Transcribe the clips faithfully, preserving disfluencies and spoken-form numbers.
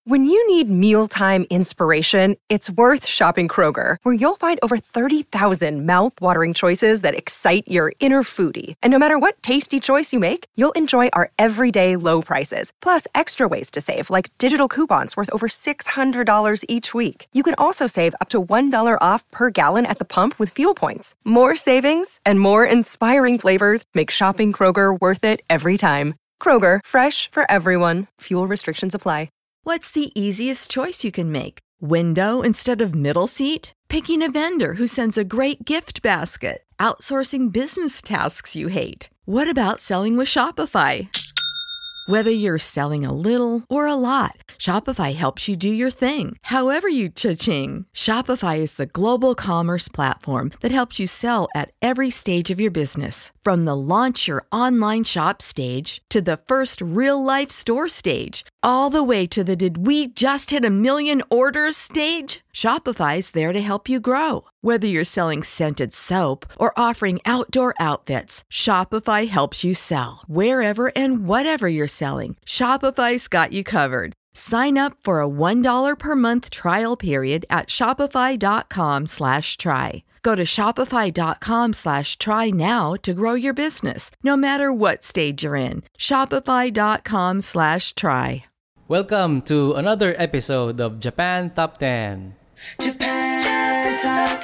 When you need mealtime inspiration, it's worth shopping Kroger, where you'll find over thirty thousand mouth-watering choices that excite your inner foodie. And no matter what tasty choice you make, you'll enjoy our everyday low prices, plus extra ways to save, like digital coupons worth over six hundred dollars each week. You can also save up to one dollar off per gallon at the pump with fuel points. More savings and more inspiring flavors make shopping Kroger worth it every time. Kroger, fresh for everyone. Fuel restrictions apply. What's the easiest choice you can make? Window instead of middle seat? Picking a vendor who sends a great gift basket? Outsourcing business tasks you hate? What about selling with Shopify? Whether you're selling a little or a lot, Shopify helps you do your thing, however you cha-ching. Shopify is the global commerce platform that helps you sell at every stage of your business. From the launch your online shop stage to the first real-life store stage, all the way to the did we just hit a million orders stage. Shopify's there to help you grow. Whether you're selling scented soap or offering outdoor outfits, Shopify helps you sell. Wherever and whatever you're selling, Shopify's got you covered. Sign up for a one dollar per month trial period at shopify.com slash try. Go to shopify.com slash try now to grow your business, no matter what stage you're in. Shopify.com slash try. Welcome to another episode of Japan Top ten. Japan Top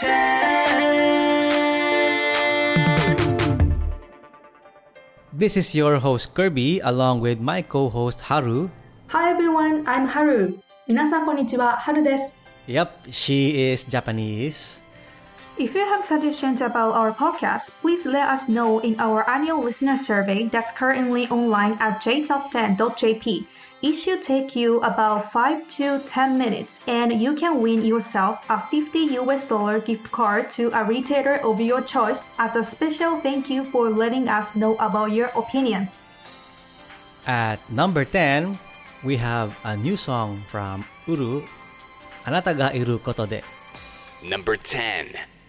ten. This is your host Kirby along with my co-host Haru. Hi everyone, I'm Haru. 皆さんこんにちは、Haru です。 Yep, she is Japanese. If you have suggestions about our podcast, please let us know in our annual listener survey that's currently online at j top ten dot j p. It should take you about five to ten minutes, and you can win yourself a fifty U S dollar gift card to a retailer of your choice as a special thank you for letting us know about your opinion. At number ten, we have a new song from Uru, Anata ga iru koto de. Number ten.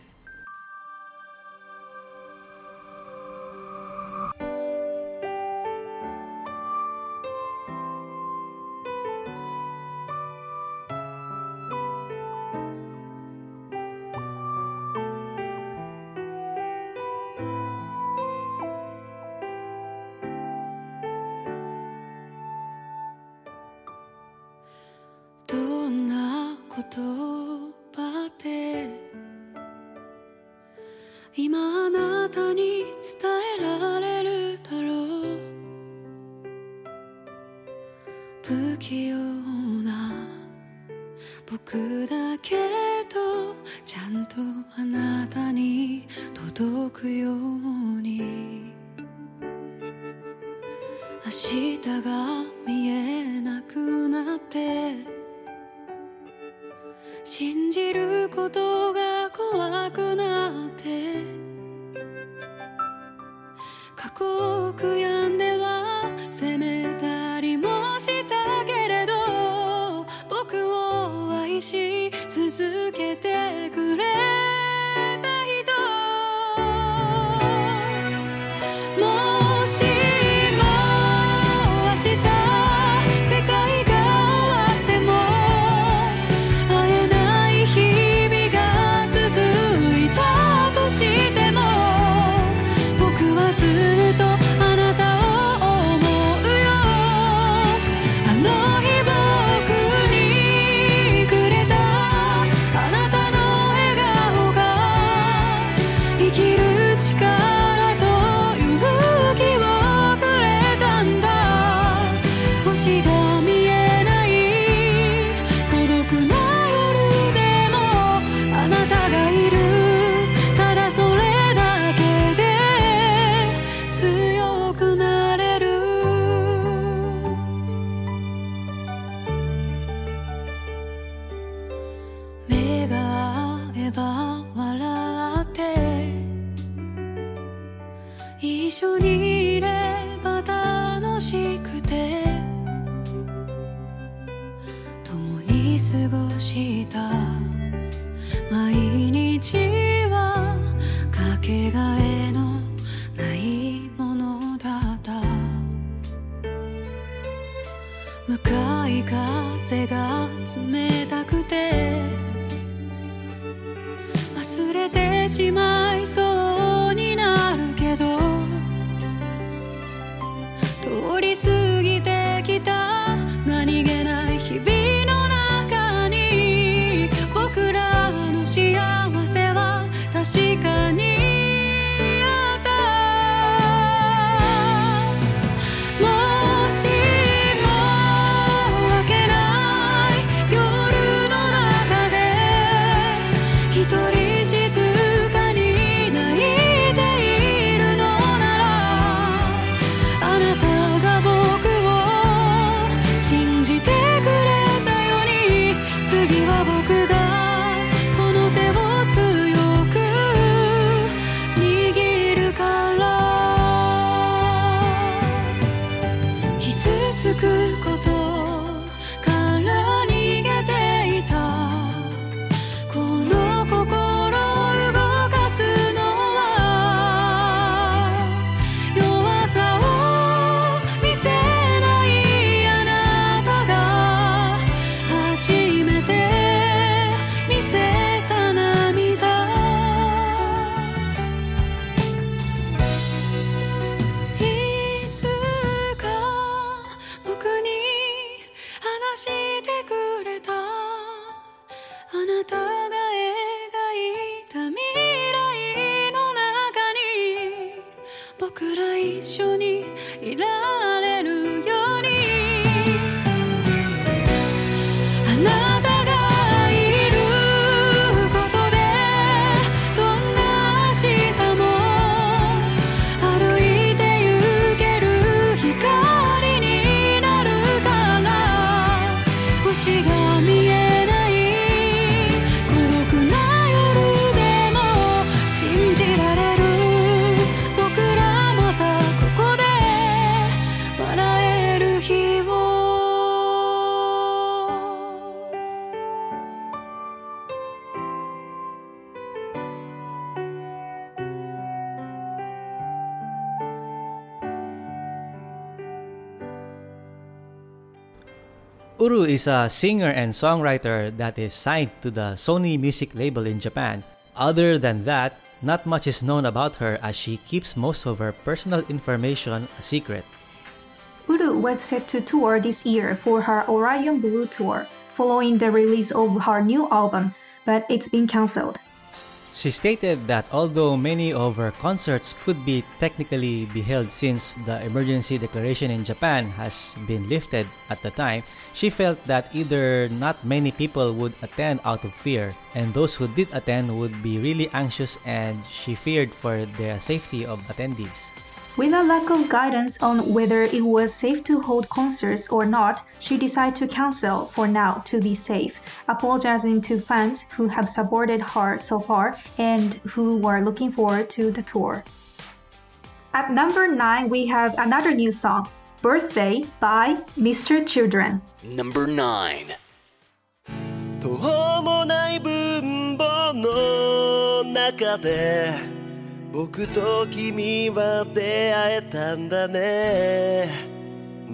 どんな言葉で今あなたに伝えられるだろう。不器用な僕だけどちゃんとあなたに届くように。明日が見えなくなって信じることが怖くなって過去を悔やんでは責めたりもしたけれど僕を愛し続けてくれた人もし一緒にいれば楽しくて共に過ごした毎日はかけがえのないものだった向かい風が冷たくて忘れてしまいそうになるけど通り過ぎてきた何気ない日々の中に僕らの幸せは確かにあったもしも明けない夜の中で一人静かに泣いているのならあなたが僕を信じてくれたように次は僕がその手を強く握るから傷つくことから逃げていたこの心を動かすのは弱さを見せないあなたが初めて見せた涙いつか僕に話してくれたあなたが描いた未来の中に僕ら一緒にいられるようにあなたがいることでどんな明日も歩いて行ける光になるから星が見えない孤独な夜でも信じられる僕らまたここで笑える日を Uru is a singer and songwriter that is signed to the Sony Music label in Japan. Other than that, not much is known about her as she keeps most of her personal information a secret. Uru was set to tour this year for her Orion Blue tour, following the release of her new album, but it's been cancelled. She stated that although many of her concerts could be technically be held since the emergency declaration in Japan has been lifted at the time, she felt that either not many people would attend out of fear, and those who did attend would be really anxious, and she feared for the safety of attendees. With a lack of guidance on whether it was safe to hold concerts or not, she decided to cancel for now to be safe, apologizing to fans who have supported her so far and who were looking forward to the tour. At number nine, we have another new song, Birthday by Mister Children. Number nine. 途方もない分母の中で僕と君は出会えたんだね、うん、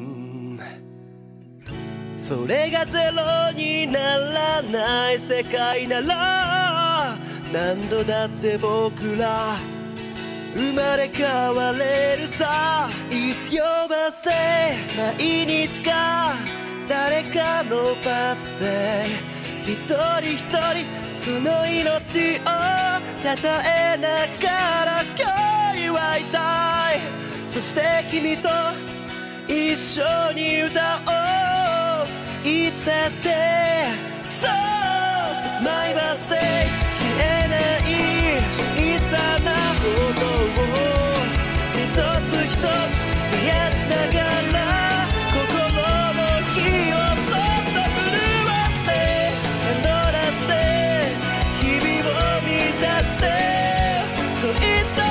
それがゼロにならない世界なら何度だって僕ら生まれ変われるさ It's your birthday 毎日か誰かのバースデー一人一人その命をたたえながら今日祝いたいそして君と一緒に歌おういつだって So it's my birthday 消えない小さなことを一つ一つ増やしながら心の火をそっと震わして何度だって日々を満たして So it's the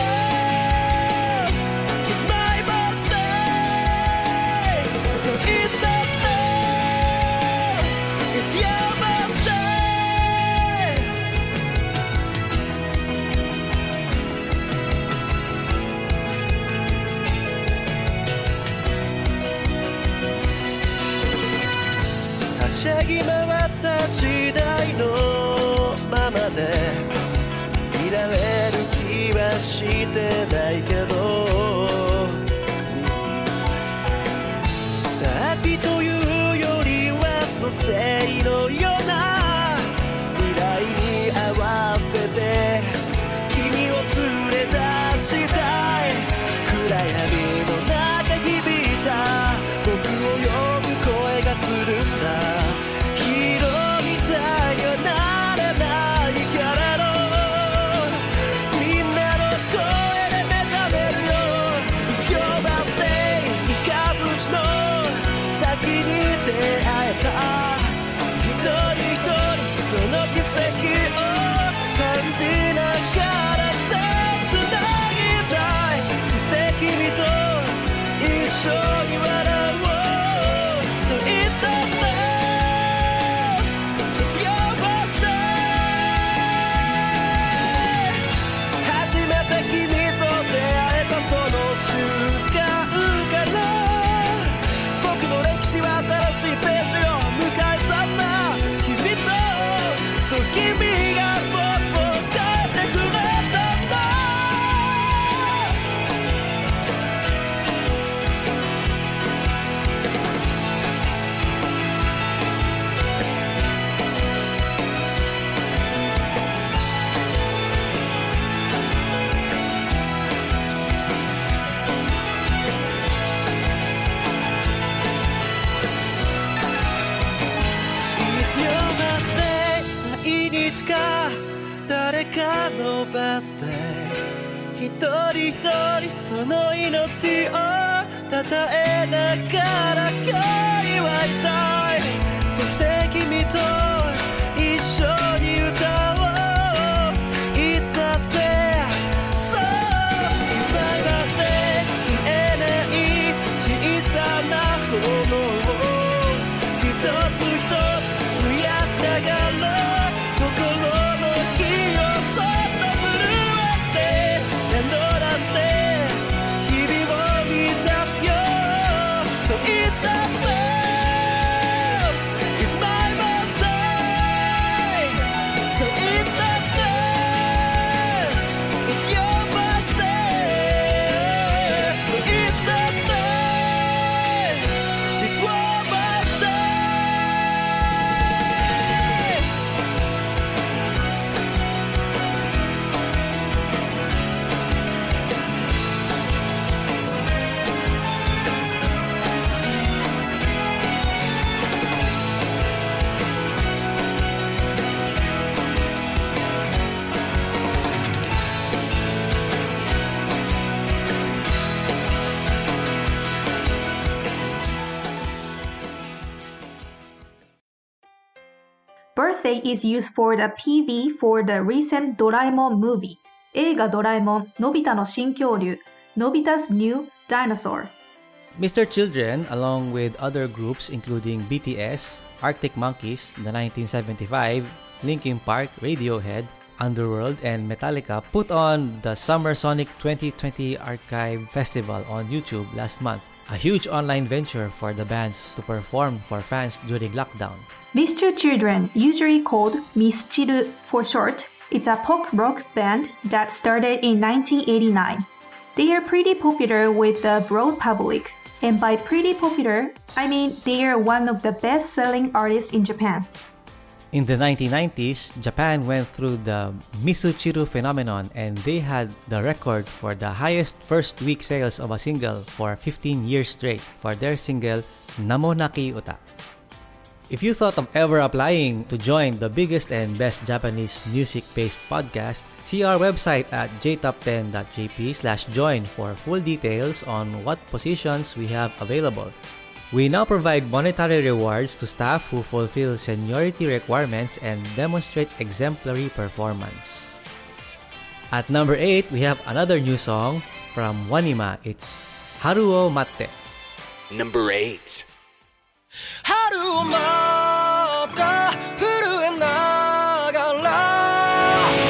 time It's my birthday So it's the time しゃぎ回った時代のままでいられる気はしてないけど、旅というよりは蘇生のような未来に合わせて君を連れ出したい。暗闇の中響いた僕を呼ぶ声がするんだ。ヒーローみたいにはなれないけれど、みんなの声で目覚めるよ。It's your birthday 三日月の先に出会えた一人一人その奇跡を感じながら手つなぎたい。そして君と一緒に笑おう。So it's the day, it's your birthday。 初めて君と出会えたその瞬間から僕の歴史は新しいページを迎え去った。君とそう君が僕を変えてくれたんだ。毎日か誰かのバースデー、一人一人その命をたたえながら今日祝いたい。そして君と一緒に歌おう。 It's that day, so it's my birthday。 見えない小さな炎を一つ一つ増やしながら心の火をそっと震わして何度だって日々を満たすよ。 So it's the day, it's my birthday。 So it's the day, it's your birthday。 It's the day, it's your birthday。 Birthday is used for the P V for the recent Doraemon movie. 映画ドラえもん、のび太の新恐竜、Nobita's New Dinosaur。 Mister Children, along with other groups including B T S, Arctic Monkeys, the nineteen seventy-five, Linkin Park, Radiohead, Underworld, and Metallica put on the Summer Sonic twenty twenty Archive Festival on YouTube last month, a huge online venture for the bands to perform for fans during lockdown. Mister Children, usually called Mischiru for short, is a pop rock band that started in nineteen eighty-nine. They are pretty popular with the broad public, and by pretty popular, I mean they are one of the best-selling artists in Japan. In the nineteen nineties, Japan went through the Misuchiru phenomenon and they had the record for the highest first week sales of a single for fifteen years straight for their single Namonaki Uta. If you thought of ever applying to join the biggest and best Japanese music-based podcast, see our website at j top ten dot j p slash join for full details on what positions we have available. We now provide monetary rewards to staff who fulfill seniority requirements and demonstrate exemplary performance. At number eight, we have another new song from Wanima. It's Haru o Matte. Number eight. 春をまた震えながら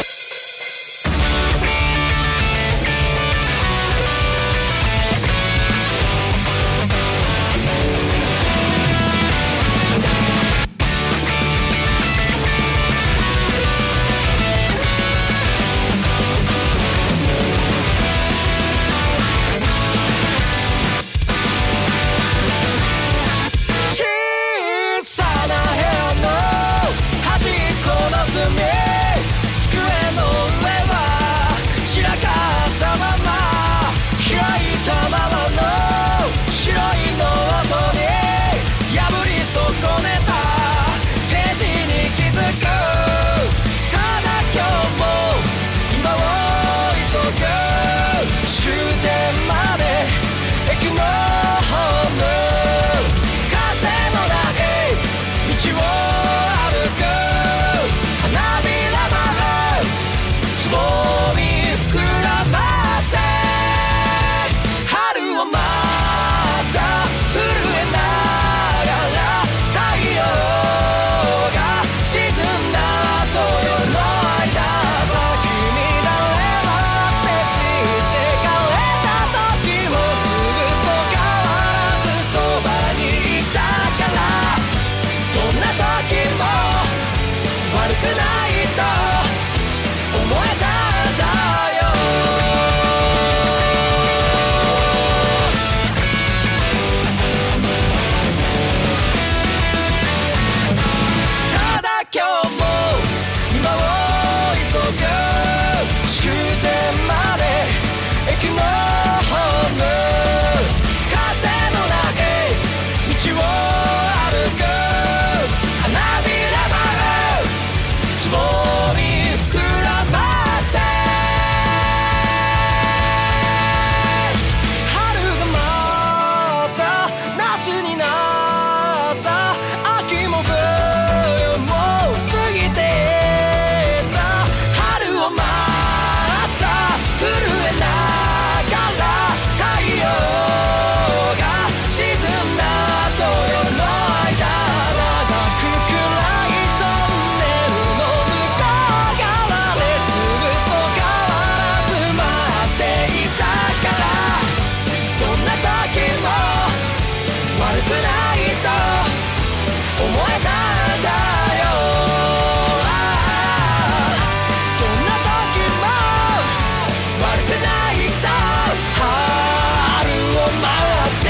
えたんだよ。どんな時も悪くないと春を待って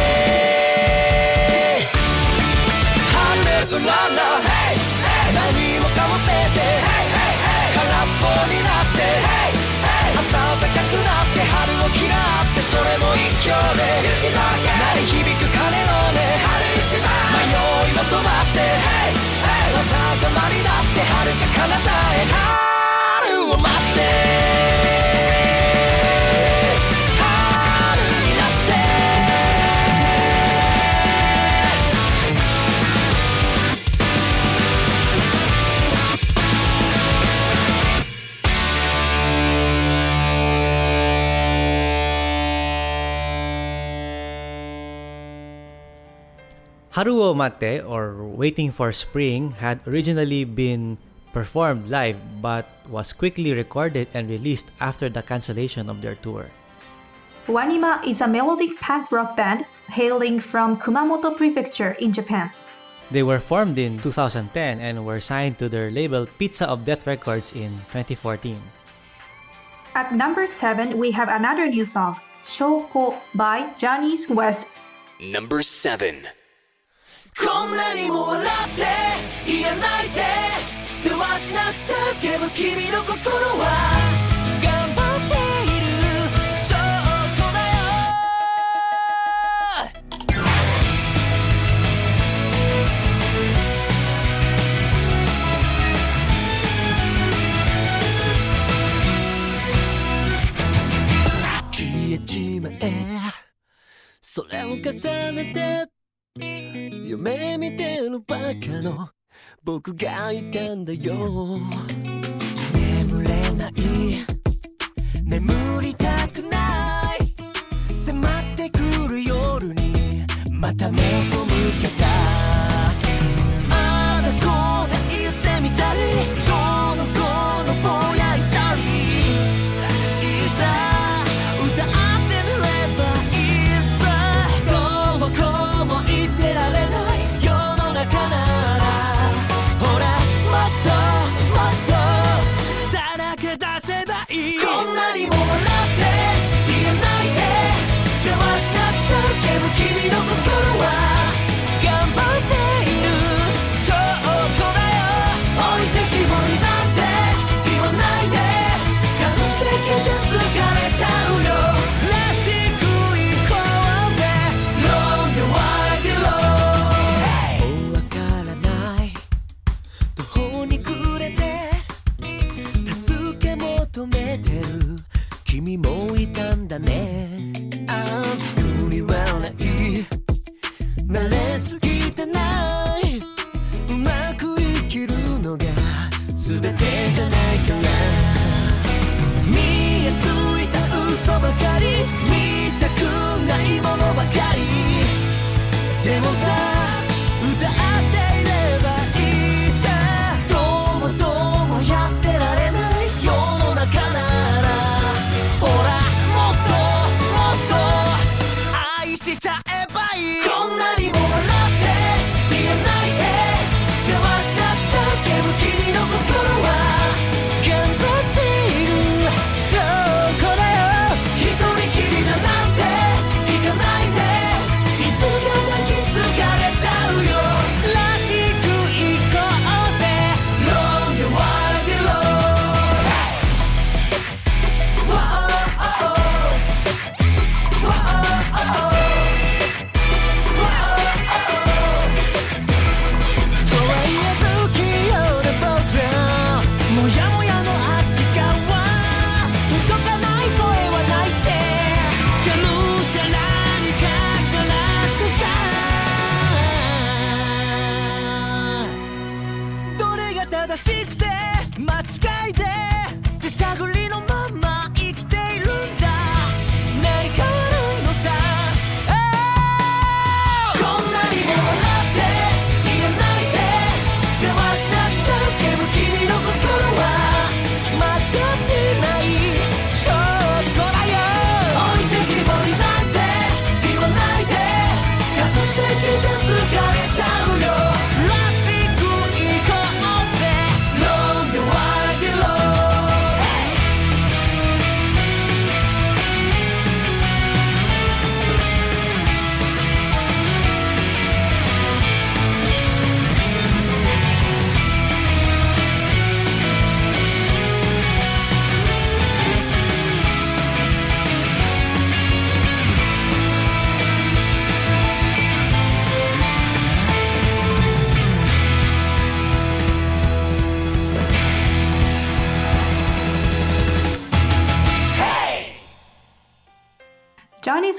ハレルララ何もかもせて空っぽになって暖かくなって春を嫌ってそれも一挙で鳴り響く鐘の音迷いを飛ばしてまた玉になって遥か彼方へ春を待って春になって Haru wo Mate, or Waiting for Spring, had originally been performed live but was quickly recorded and released after the cancellation of their tour. Wanima is a melodic punk rock band hailing from Kumamoto Prefecture in Japan. They were formed in two thousand ten and were signed to their label Pizza of Death Records in twenty fourteen. At number seven, we have another new song, Shoko by Johnny's West. Number seven. こんなにも笑って言えないでせわしなく叫ぶ君の心は頑張っている証拠だよ。消えちまえそれを重ねて夢見てるバカの僕がいたんだよ。眠れない眠りたくない迫ってくる夜にまた目を背けたあだこうだ言ってみたりどの子のぼやいたりいざ歌ってみればいいさそうもこうも言ってられない世の中ならほらもっともっとさらけ出せばいいこんなにも笑って言えないでせわしなく叫ぶ君の心は頑張っている証拠だよ置いてきぼりなんて言わないで完璧じゃ疲れちゃうよらしくいこうぜ Long the wild road わからない途方に暮れて助け求めてる君もいたんだねああ作り笑い慣れすぎてないうまく生きるのが全てじゃないから見えすいた嘘ばかり見たくないものばかりでもさ歌っていればいいさどうもどうもやってられない世の中ならほらもっともっと愛しちゃえばいいこんなにも笑って言えないでせわしなく叫ぶ君の心は頑張っている証拠だよ一人きりだなんて行かないでいつか泣き疲れちゃうよらしく行こうぜ Long the wild road Whoa, oh, oh, oh. Whoa, oh, oh, oh. Whoa, oh, oh, oh. とはいえ不器用な僕らもやもやのあっち側届かない声はないってがむしゃらにかからしてさどれが正しくて間違いで手探りのまま生きているんだ何か悪いのさこんなにも笑って言えないでせわしなく叫ぶ君の心は間違ってない証拠だよ置いてきぼりなんて言わないで完璧じゃ疲れちゃうよら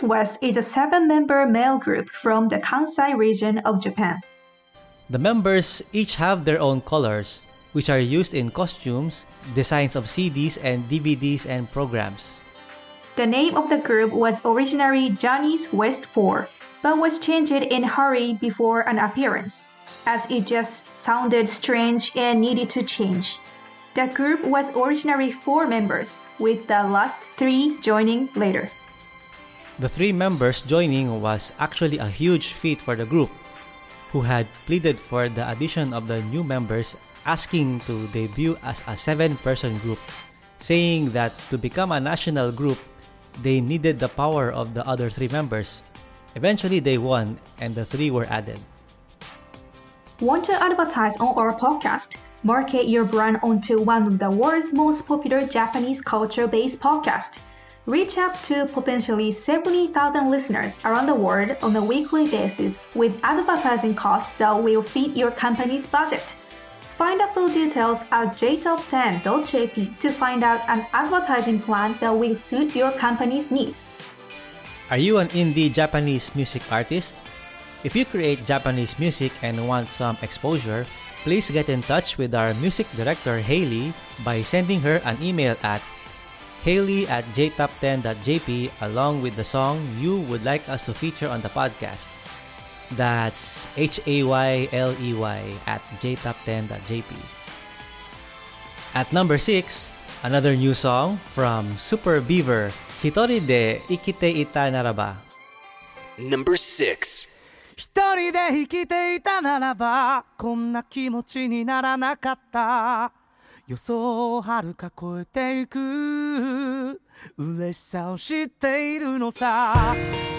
West is a seven-member male group from the Kansai region of Japan. The members each have their own colors, which are used in costumes, designs of C Ds and D V Ds and programs. The name of the group was originally Johnny's West four, but was changed in a hurry before an appearance, as it just sounded strange and needed to change. The group was originally four members, with the last three joining later. The three members joining was actually a huge feat for the group, who had pleaded for the addition of the new members, asking to debut as a seven-person group, saying that to become a national group, they needed the power of the other three members. Eventually, they won, and the three were added. Want to advertise on our podcast? Market your brand onto one of the world's most popular Japanese culture-based podcasts. Reach out to potentially seventy thousand listeners around the world on a weekly basis with advertising costs that will fit your company's budget. Find the full details at j top ten dot j p to find out an advertising plan that will suit your company's needs. Are you an indie Japanese music artist? If you create Japanese music and want some exposure, please get in touch with our music director Hailey by sending her an email at hailey at j top ten dot j p along with the song you would like us to feature on the podcast. That's H A Y L E Y at j top ten dot j p. At number six, another new song from Super Beaver, Hitori de Ikite ita naraba. Number six. 一人で生きていたならばこんな気持ちにならなかった予想をはるか超えていく嬉しさを知っているのさ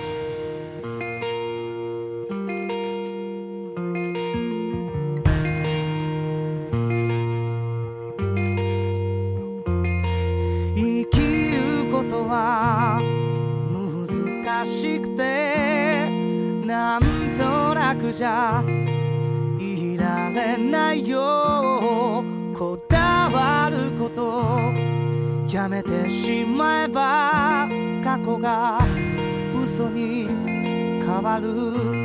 生きることは難しくてなんとなくじゃいられないよこだわることやめてしまえば過去が嘘に変わる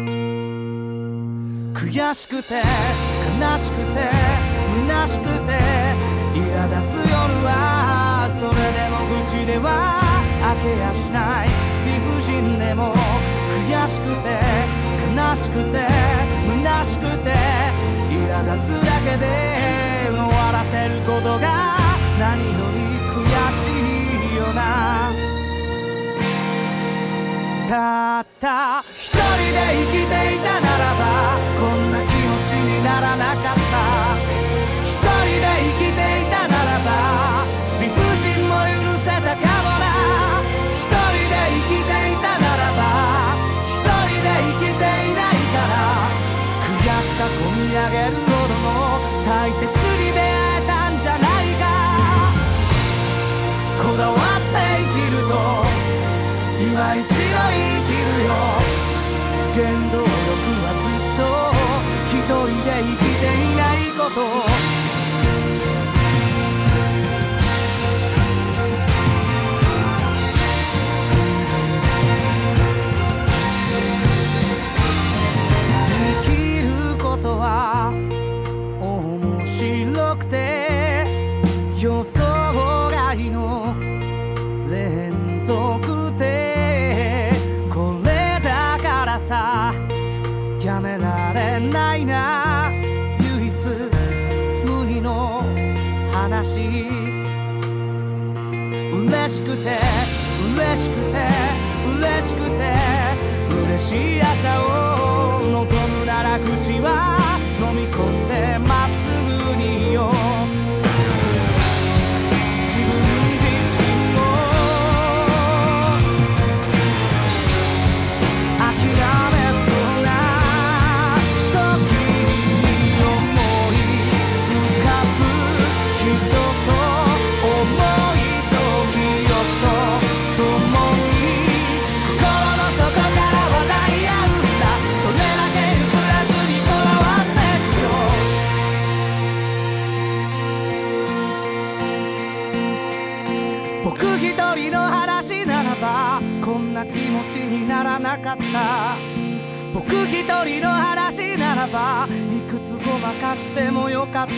悔しくて悲しくて虚しくて苛立つ夜はそれでも愚痴では明けやしない理不尽でも悔しくて悲しくて虚しくて苛立つだけで終わらせることが何より悔しいよなたった一人で生きていたならばこんな気持ちにならなかった一人で生きていたならば理不尽も許せたかもな一人で生きていたならば一人で生きていないから悔しさこみ上げるほどの大切に出会えたんじゃないかこだわって生きると今一度生きるよ原動力はずっと一人で生きていないこと生きることは面白くて予想外の連続でこれだからさやめられないな唯一無二の話嬉しくて嬉しくて嬉しくて嬉しい朝を望むなら口は飲み込んでまっすぐによ自分自身を諦めそうな時に思い浮かぶ人と思いと記憶と共に心の底から笑い合うんだそれだけ譲らずにこだわちにならなかった。僕一人の話ならばいくつごまかしてもよかった。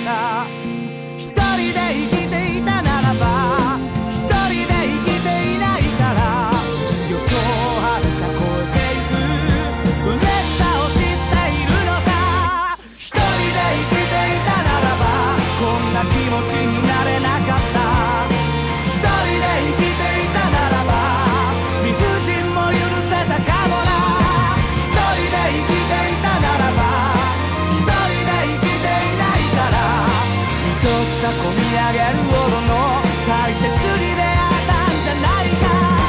一人で生きていたならば一人で生きていないから、予想をはるか超えていく嬉しさを知っているのさ。一人で生きていたならばこんな気持ちになれなかった。一人で生きていたならば理不尽も許せたかもな。一人で生きていたならば一人で生きていないから、愛しさこみ上げるほどの大切に出会えたんじゃないか。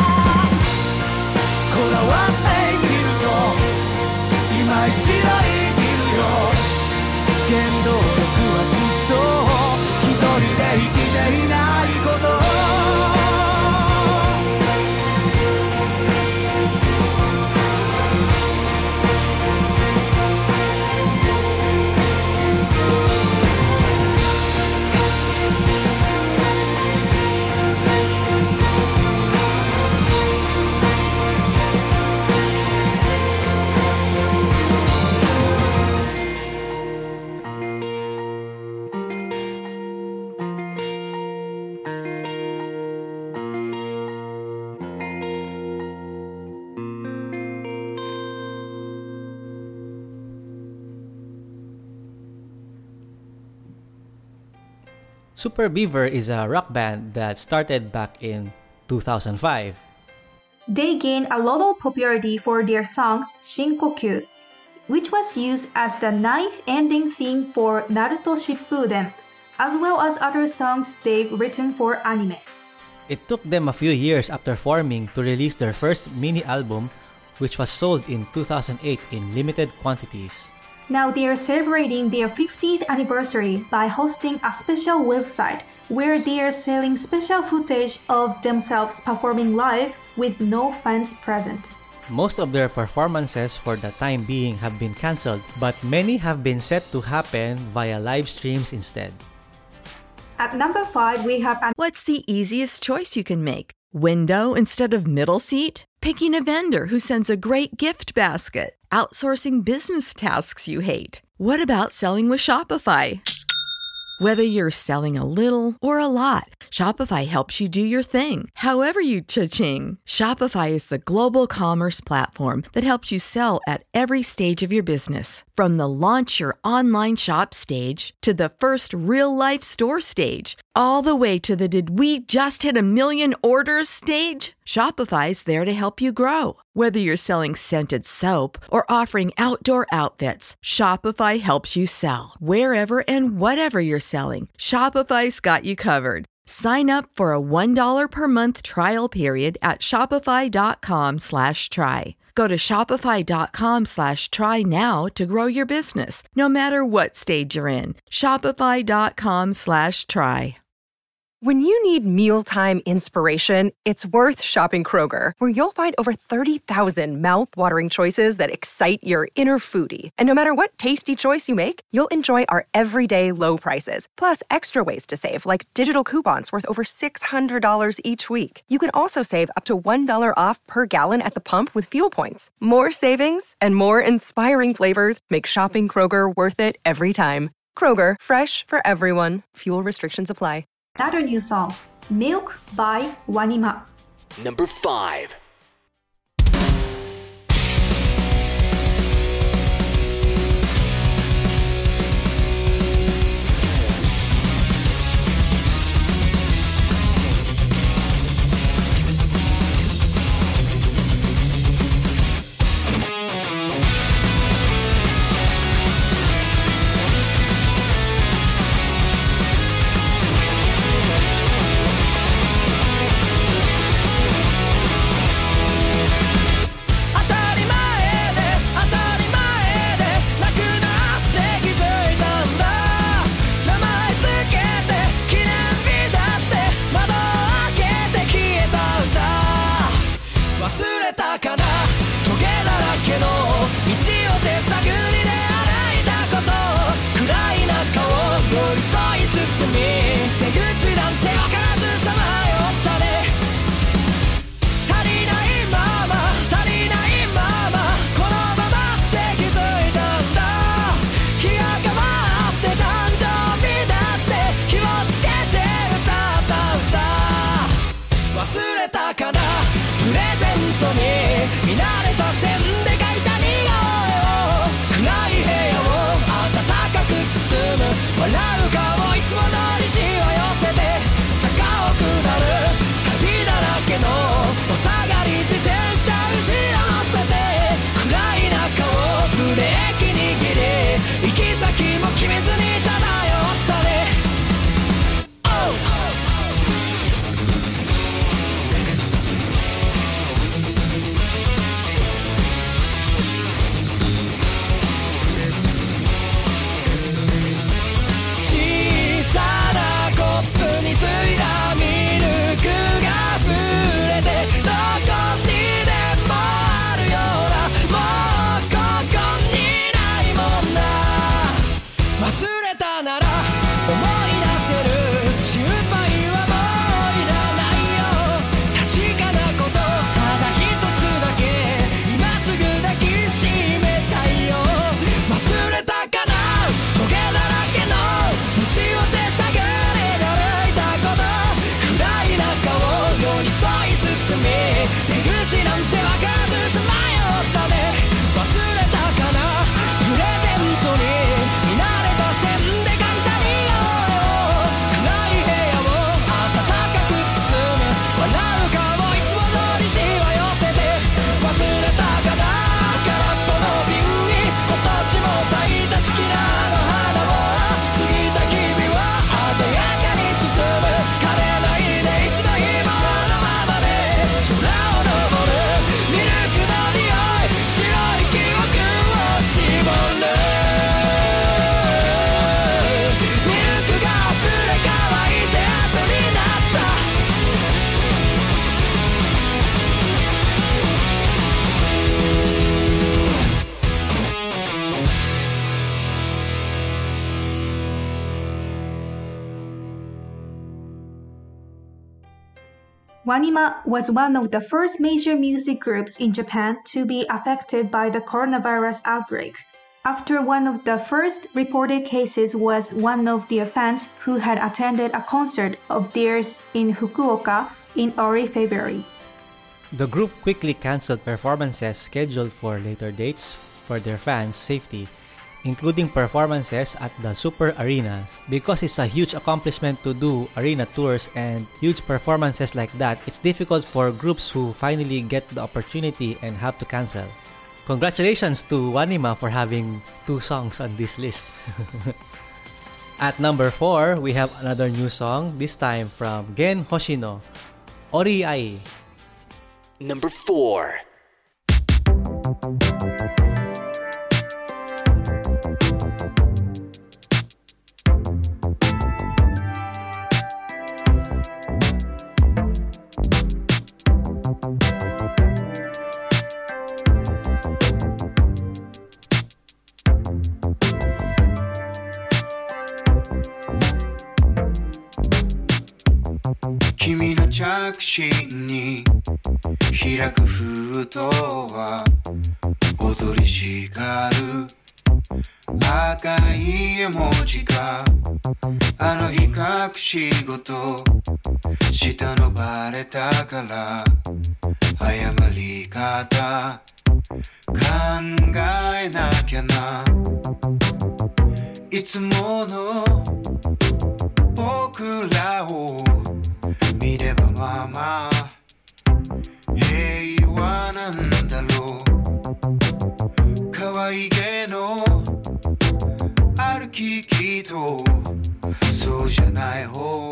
こだわって生きると今一度生きるよ。原動力はずっと一人で生きていないこと。 Super Beaver is a rock band that started back in two thousand five. They gained a lot of popularity for their song Shinkokyu, which was used as the ninth ending theme for Naruto Shippuden, as well as other songs they've written for anime. It took them a few years after forming to release their first mini-album, which was sold in two thousand eight in limited quantities. Now they are celebrating their fiftieth anniversary by hosting a special website where they are selling special footage of themselves performing live with no fans present. Most of their performances for the time being have been cancelled, but many have been set to happen via live streams instead. At number five, we have an What's the easiest choice you can make? Window instead of middle seat? Picking a vendor who sends a great gift basket? Outsourcing business tasks you hate? What about selling with Shopify? Whether you're selling a little or a lot, Shopify helps you do your thing, however you cha-ching. Shopify is the global commerce platform that helps you sell at every stage of your business. From the launch your online shop stage to the first real-life store stage, all the way to the did we just hit a million orders stage. Shopify's there to help you grow. Whether you're selling scented soap or offering outdoor outfits, Shopify helps you sell. Wherever and whatever you're selling, Shopify's got you covered. Sign up for a one dollar per month trial period at shopify.com slash try. Go to shopify.com slash try now to grow your business, no matter what stage you're in. Shopify.com slash try. When you need mealtime inspiration, it's worth shopping Kroger, where you'll find over thirty thousand mouth-watering choices that excite your inner foodie. And no matter what tasty choice you make, you'll enjoy our everyday low prices, plus extra ways to save, like digital coupons worth over six hundred dollars each week. You can also save up to one dollar off per gallon at the pump with fuel points. More savings and more inspiring flavors make shopping Kroger worth it every time. Kroger, fresh for everyone. Fuel restrictions apply. Another new song, Milk by Wanima. Number five. 足りないまま足り忘れたなら思い出せる心配はもういらないよ確かなことただ一つだけ今すぐ抱きしめたいよ忘れたかなトゲだらけの道を手探りで歩いたこと暗い中を寄り添い進み出口なんてわからずさまよったね忘れたかなプレゼントに見慣れた線で簡単に暗い部屋を暖かく包む笑う顔いつも通りしわ寄せて忘れたかな空っぽの瓶に今年も咲いた好きなあの花を過ぎた日々は鮮やかに包む枯れないでいつの日もあのままで空を登るミルクの匂い白い記憶を絞るミルクが溢れ乾いて後になった WANIMA was one of the first major music groups in Japan to be affected by the coronavirus outbreak. After one of the first reported cases was one of their fans who had attended a concert of theirs in Fukuoka in early February. The group quickly canceled performances scheduled for later dates for their fans' safety, including performances at the Super Arena, because it's a huge accomplishment to do arena tours and huge performances like that. It's difficult for groups who finally get the opportunity and have to cancel. Congratulations to WANIMA for having two songs on this list. At number four, we have another new song, this time from Gen Hoshino, Ori Ai. Number four. 君の着信に開く封筒は踊りしがる赤い絵文字があの日隠し事したのバレたから謝り方考えなきゃないつもの僕らを見ればまあまあ平和なんだろう可愛げの歩ききとそうじゃない方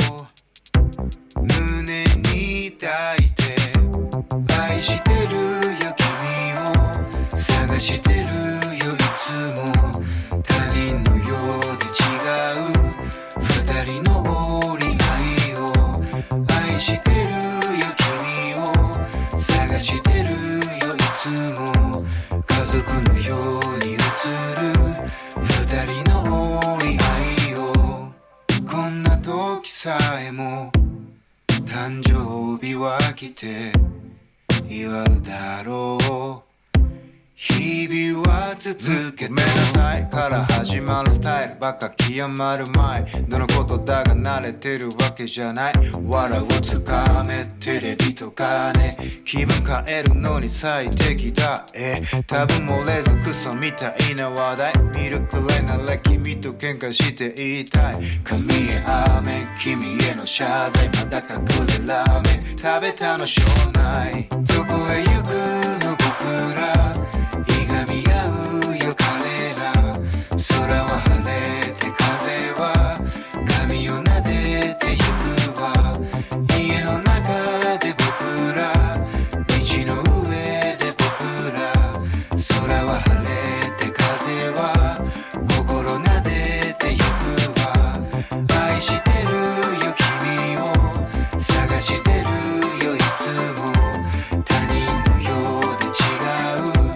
胸に抱いて愛してるよ君を探してるよいつも他人のようで違う二人の折り合いを愛してるよ君を探してるよいつも家族のように映る二人の折り合いをこんな時さえも誕生日は来て祝うだろう日々は続けてごめんなさいから始まるスタイルばっか極まる前どのことだが慣れてるわけじゃない笑うつかめテレビとかね気分変えるのに最適だえ多分漏れずクソみたいな話題見るくらいなら君と喧嘩して言いたい神へアーメン君への謝罪まだ隠れラーメン食べたのしょうないどこへ行くの僕らいがみ合うよ彼ら空は晴れて風は髪を撫でてゆくわ家の中で僕ら道の上で僕ら空は晴れて風は心撫でてゆくわ愛してるよ君を探してるよいつも他人のようで違う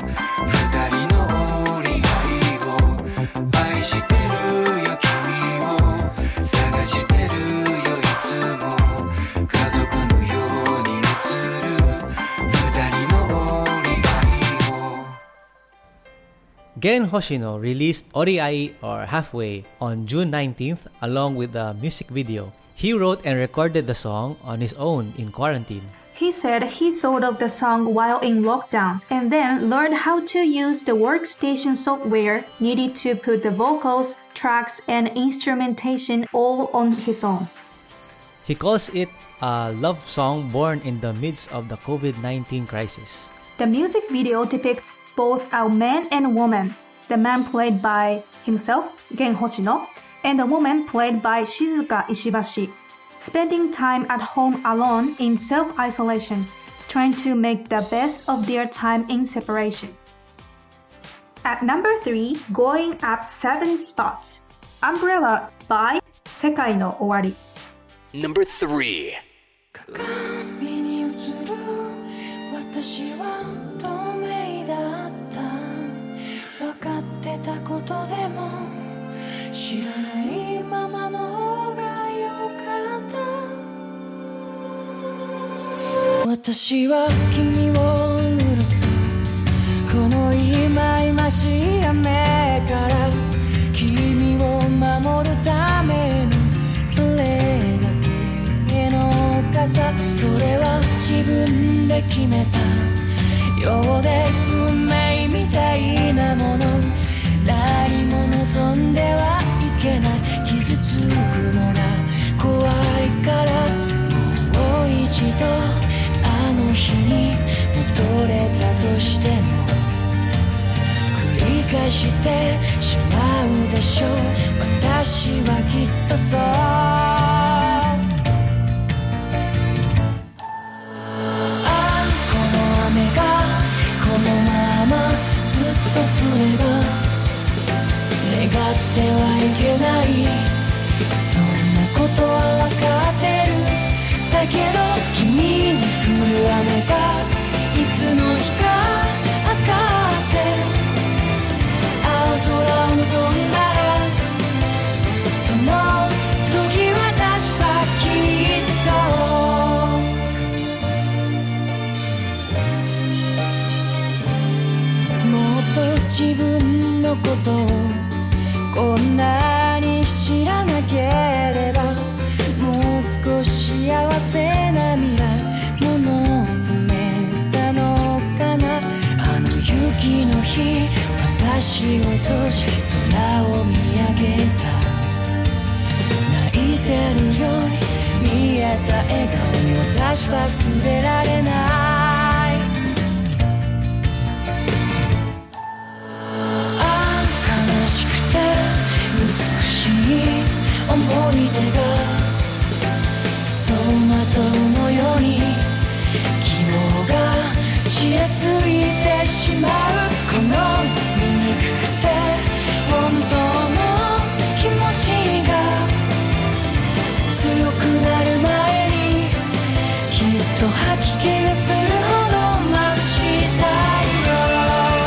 Gen Hoshino released Oriai or Halfway on June nineteenth along with the music video. He wrote and recorded the song on his own in quarantine. He said he thought of the song while in lockdown and then learned how to use the workstation software needed to put the vocals, tracks, and instrumentation all on his own. He calls it a love song born in the midst of the covid nineteen crisis. The music video depicts both a man and woman, the man played by himself, Gen Hoshino, and the woman played by Shizuka Ishibashi, spending time at home alone in self-isolation, trying to make the best of their time in separation. At number three, going up seven spots, Umbrella by Sekai no Owari. Number three. 鏡に映る私は透明だった分かってたことでも知らないままの方が良かった私は君を濡らすこの忌々しい雨から君を守るためのそれだけの傘それは自分で決めたようで運命みたいなもの何も望んではいけない傷つくのが怖いからもう一度あの日に戻れたとしても繰り返してしまうでしょう私はきっとそう降れば願ってはいけないそんなことは分かってるだけど君に降る雨がいつの日か分かって青空を望んだらその時私はきっともっと自分のことをこんなに知らなければもう少し幸せな未来も望めたのかなあの雪の日私を通し空を見上げた泣いてるように見えた笑顔に私は触れられない悲しくて美しい思い出が走馬灯のように希望がちらついてしまうこの醜くて本当の気持ちが強くなる前にきっと吐き気がするほど眩したいよ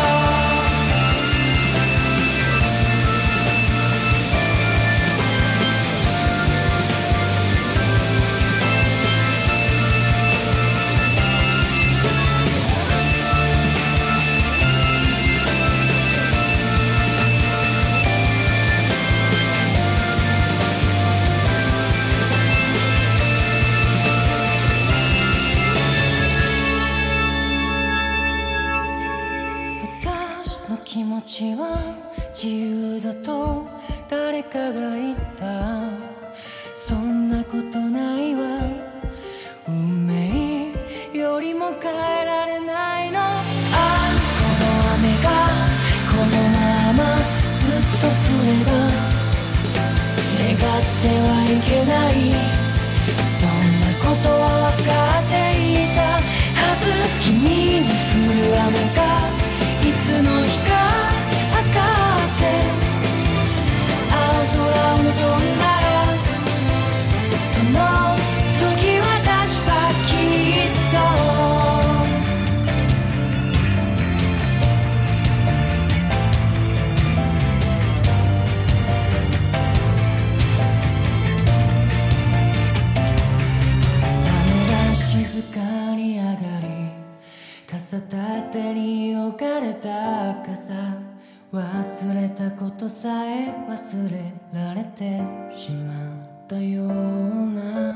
気持ちは自由だと誰かが言ったそんなことないわ運命よりも変えられないのああこの雨がこのままずっと降れば願ってはいけないそんなことは分かっていたはず君に降る雨がいつの日か分かって青空を望んだらその時私はきっと雨が静かに上がり傘立てに置かれた傘忘れたことさえ忘れられてしまったような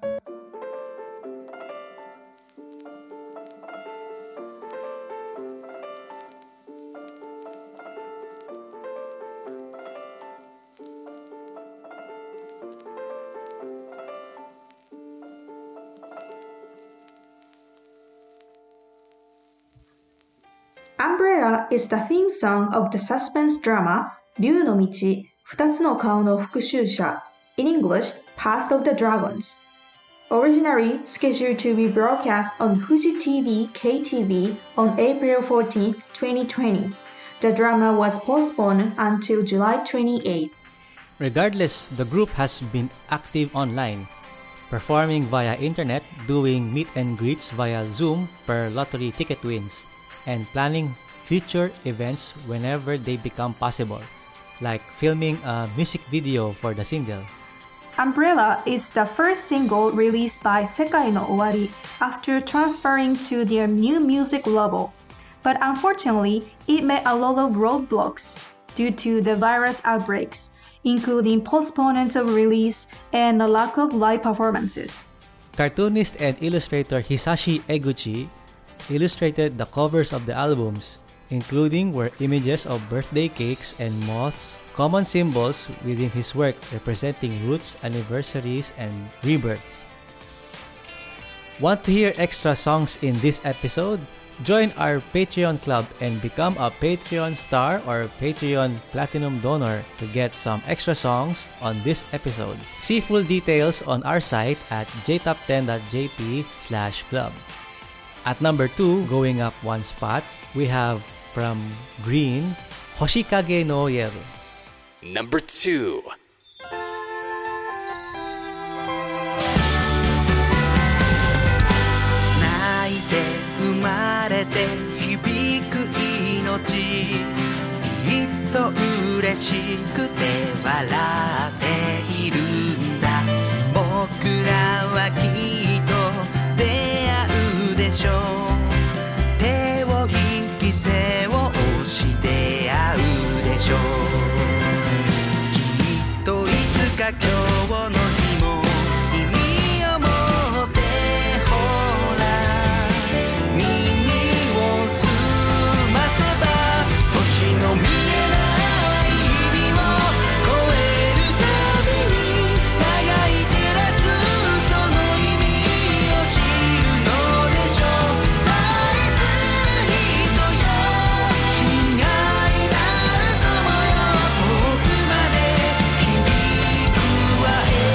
Umbrella is the theme song of the suspense drama 竜の道二つの顔の復讐者 in English, Path of the Dragons. Originally scheduled to be broadcast on Fuji T V K T V on April fourteenth, twenty twenty, the drama was postponed until July twenty-eighth. Regardless, the group has been active online, performing via internet, doing meet and greets via Zoom per lottery ticket wins, and planning future events whenever they become possible, like filming a music video for the single. Umbrella is the first single released by Sekai no Owari after transferring to their new music label, but unfortunately, it met a lot of roadblocks due to the virus outbreaks, including postponement of release and a lack of live performances. Cartoonist and illustrator Hisashi Eguchi illustrated the covers of the albums, including were images of birthday cakes and moths, common symbols within his work representing roots, anniversaries, and rebirths. Want to hear extra songs in this episode? Join our Patreon club and become a Patreon star or Patreon Platinum donor to get some extra songs on this episode. See full details on our site at j top ten dot j p slash club. At number two, going up one spot, we have from Green, Hoshikage no Yeru. Number two. 泣いて生まれて響く命きっと嬉しくて笑っているんだ僕らはきっと出会うでしょう手を引き背を押して会うでしょうきっといつか今日の日も意味を持ってほら耳を澄ませば星の見えない日々を越えるたびに互い照らすその意味を知るのでしょう愛する人よ違いなる友よ遠くまで響くわ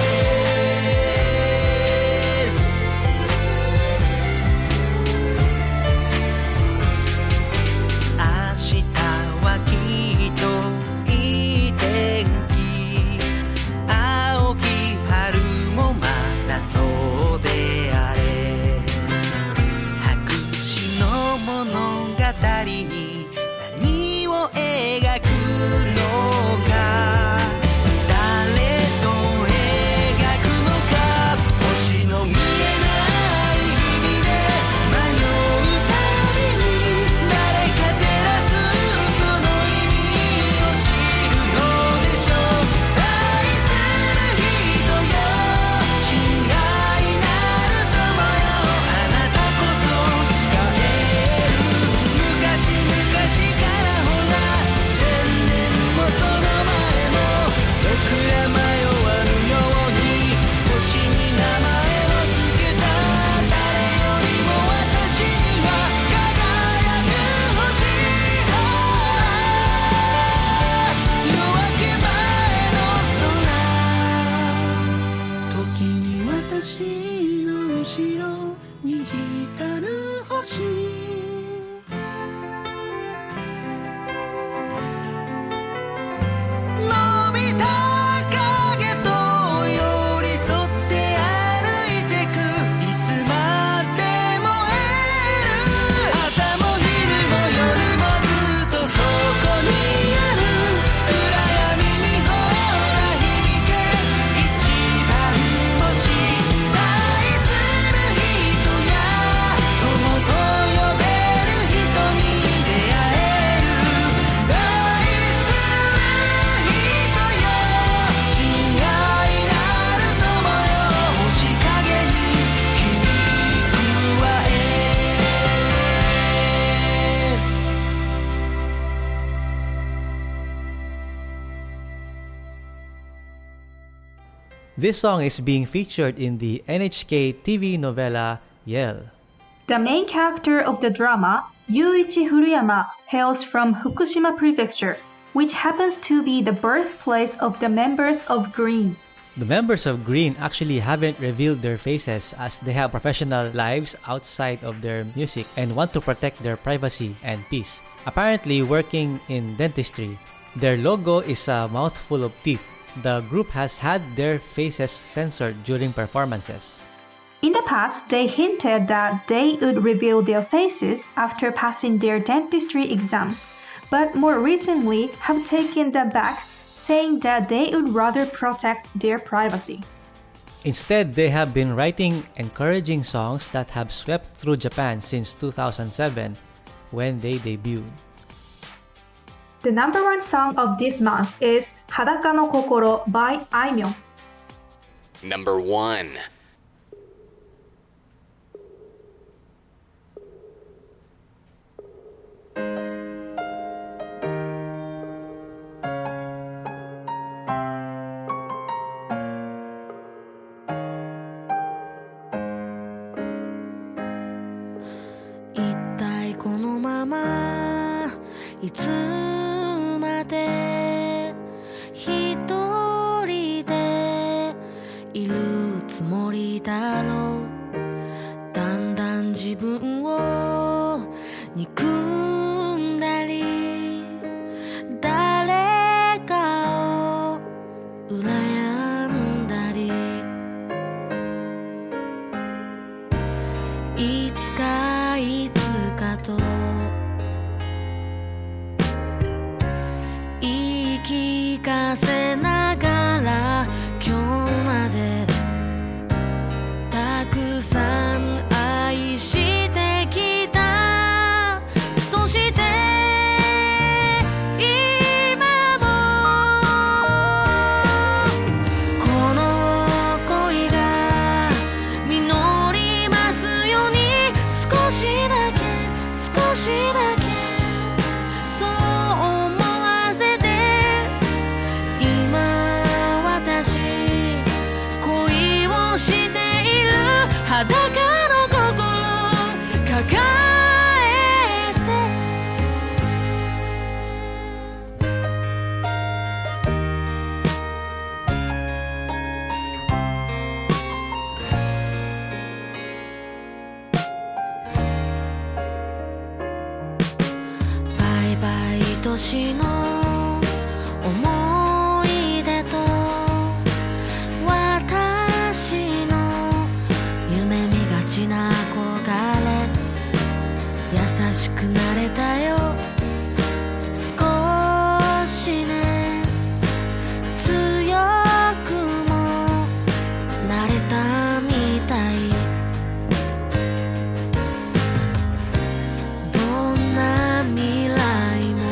明日はきっといい天気青き春もまたそうであれ白紙の物語に何を描くのか誰と描くのか星の見えない日々で迷うたびに誰か照らすその意味を知るのでしょう愛する人よ違いなる友よあなたこそ帰る昔々からほら千年もその前も僕ら迷わぬように星に名前をつけた誰よりも私には輝く星ほら夜明け前の空時に私の後ろに光る星伸びた影と寄り添って歩いてくいつまでも会える朝も昼も夜もずっとそこにある暗闇にほら響け一番星愛する人や友と呼 This song is being featured in the N H K T V novella Yell. The main character of the drama, Yuichi Furuyama, hails from Fukushima Prefecture, which happens to be the birthplace of the members of Green. The members of Green actually haven't revealed their faces as they have professional lives outside of their music and want to protect their privacy and peace. Apparently working in dentistry, their logo is a mouthful of teeth. The group has had their faces censored during performances. In the past, they hinted that they would reveal their faces after passing their dentistry exams, but more recently have taken that back, saying that they would rather protect their privacy. Instead, they have been writing encouraging songs that have swept through Japan since two thousand seven when they debuted. The number one song of this month is Hadaka no Kokoro by Aimyon. Number one. いつまで一人でいるつもりだろう。だんだん自分を憎んだり誰かを羨んだり、いつかいつかと言い聞かせながら今日までたくさん愛してきた。そして今もこの恋が実りますように、少しだけ少しだけそう思わせて、今私恋をしている。裸の心抱えてバイバイ年の思い出と私の夢見がちな憧れ、優しくなれたよ少しね、強くもなれたみたい。どんな未来も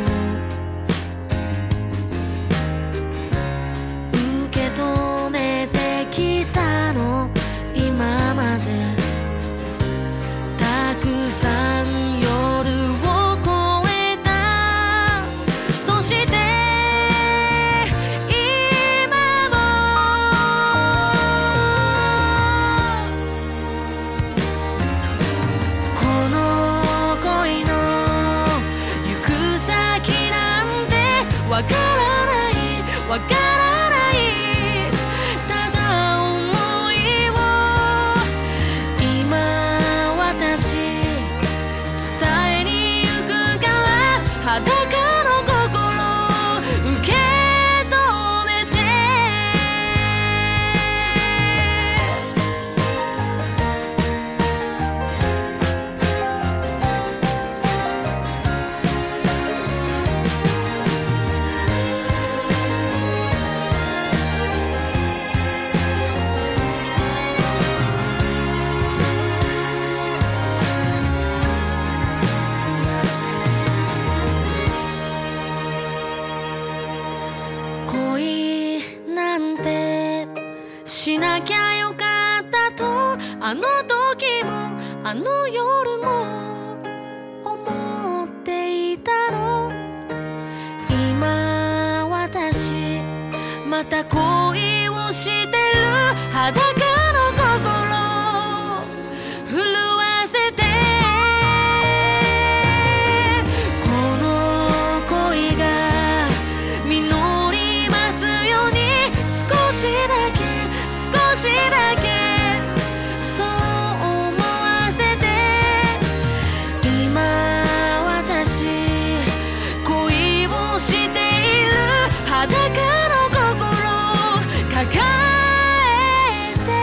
受け止めてきたの、今までたくさん夜を越えた。そして今もこの恋の行く先なんてわからないわからない、ただ思いを今私伝えに行くから、裸の心受け止めて。恋なんてしなきゃよかったと、あの時もあの夜も思っていたの。今私また恋をしてる。 だけそう思わせて今私恋をしている裸の心抱えて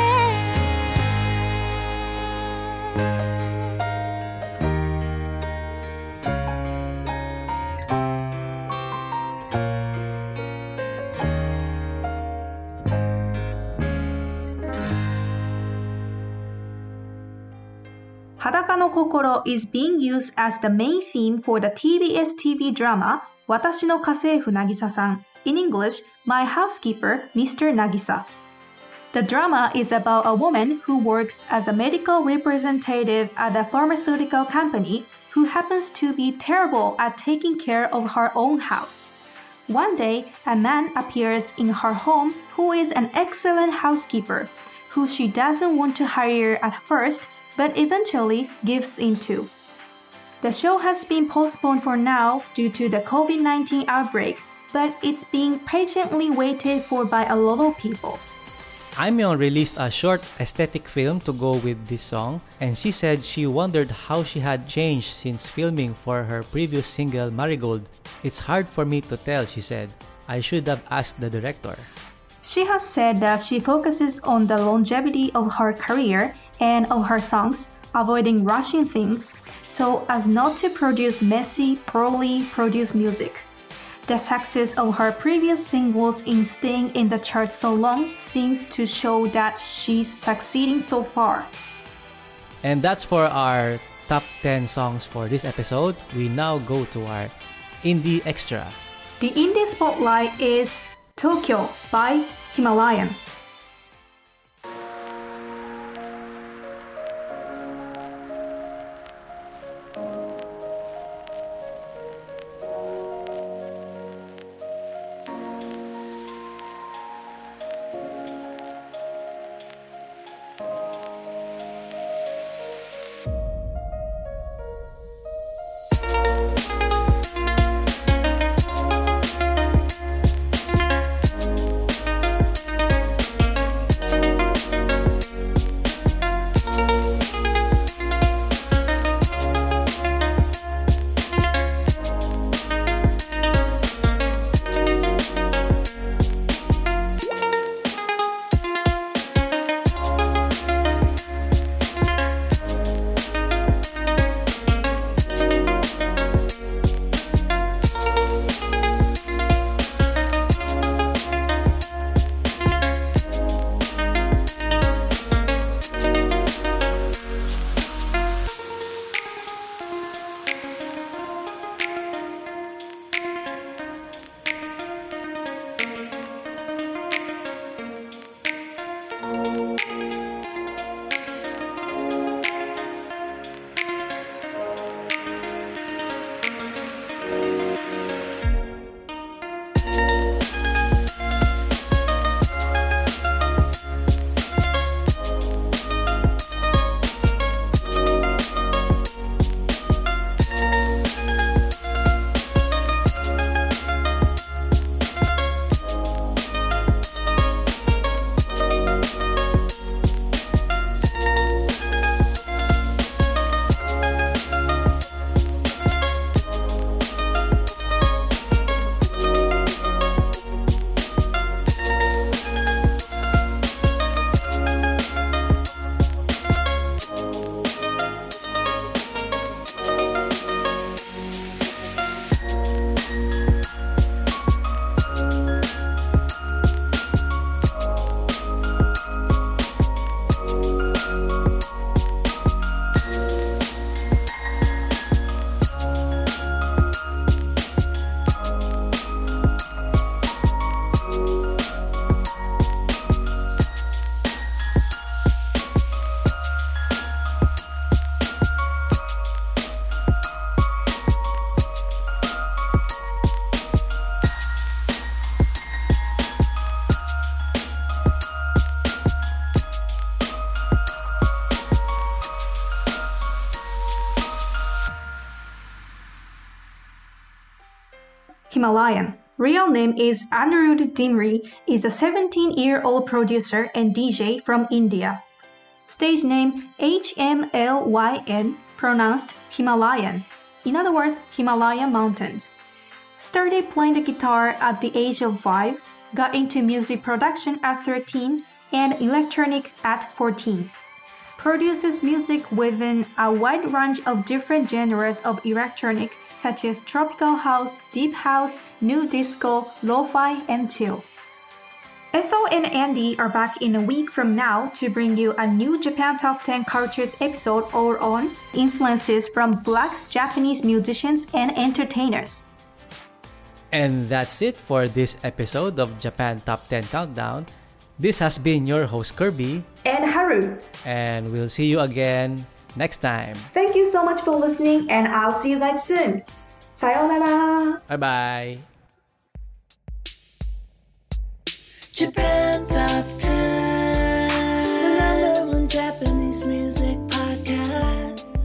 Hadaka no Kokoro is being used as the main theme for the T B S T V drama Watashi no Kaseifu Nagisa-san, in English, My Housekeeper, Mister Nagisa. The drama is about a woman who works as a medical representative at a pharmaceutical company who happens to be terrible at taking care of her own house. One day, a man appears in her home who is an excellent housekeeper, who she doesn't want to hire at first, but eventually gives into. The show has been postponed for now due to the covid nineteen outbreak, but it's being patiently waited for by a lot of people. Aimyon released a short aesthetic film to go with this song, and she said she wondered how she had changed since filming for her previous single Marigold. It's hard for me to tell, she said. I should have asked the director. She has said that she focuses on the longevity of her career and of her songs, avoiding rushing things, so as not to produce messy, poorly produced music. The success of her previous singles in staying in the charts so long seems to show that she's succeeding so far. And that's for our top ten songs for this episode. We now go to our Indie Extra. The Indie Spotlight is Tokyo by Himalayan. Himalayan, real name is Anirudh Dimri, is a seventeen-year-old producer and D J from India. Stage name H M L Y N, pronounced Himalayan. In other words, Himalayan Mountains. Started playing the guitar at the age of five, got into music production at thirteen, and electronic at fourteen. Produces music within a wide range of different genres of electronic such as tropical house, deep house, new disco, lo-fi, and chill. Ethel and Andy are back in a week from now to bring you a new Japan Top ten Cultures episode all on influences from Black Japanese musicians and entertainers. And that's it for this episode of Japan Top ten Countdown. This has been your host Kirby and Haru. And we'll see you again next time. Thank you so much for listening, and I'll see you guys soon. Sayonara. Bye-bye. Japan Top ten, the number one Japanese music podcast.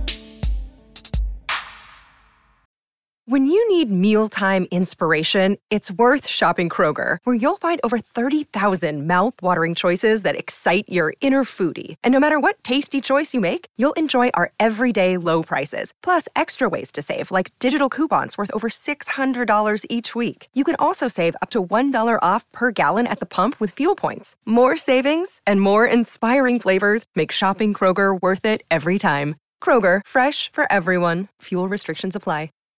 When you need mealtime inspiration, it's worth shopping Kroger, where you'll find over thirty thousand mouth-watering choices that excite your inner foodie. And no matter what tasty choice you make, you'll enjoy our everyday low prices, plus extra ways to save, like digital coupons worth over six hundred dollars each week. You can also save up to one dollar off per gallon at the pump with fuel points. More savings and more inspiring flavors make shopping Kroger worth it every time. Kroger, fresh for everyone. Fuel restrictions apply.